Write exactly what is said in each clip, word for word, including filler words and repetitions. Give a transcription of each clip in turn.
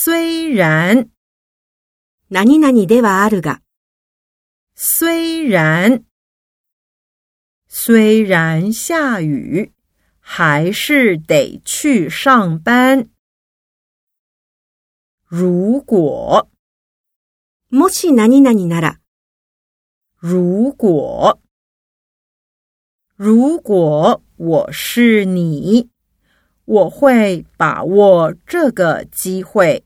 虽然何々ではあるが、 虽然虽然下雨，还是得去上班。如果もし何々なら、 如果如果我是你，我会把握这个机会。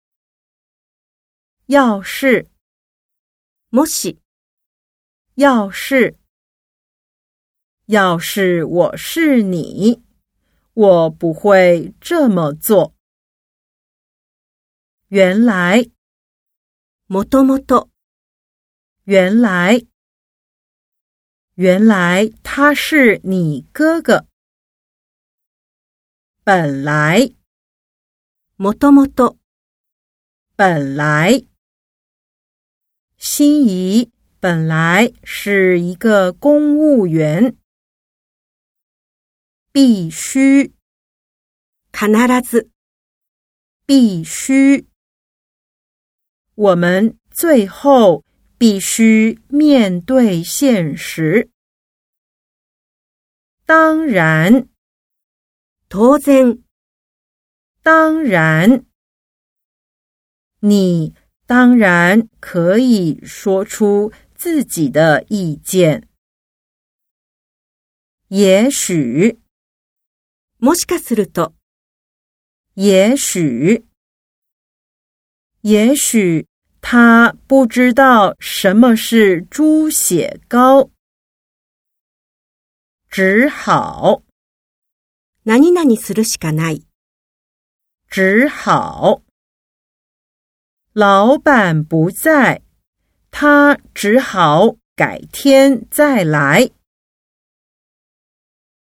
要是もし、 要是要是我是你，我不会这么做。原来もともと、 原来原来他是你哥哥。本来もともと、 本来心仪本来是一个公务员。必须必ず、 必须我们最后必须面对现实。当然当然、 当然你当然可以说出自己的意见。也许もしかすると、 也许也许他不知道什么是猪血糕。只好何々するしかない。 只好老板不在，他只好改天再来。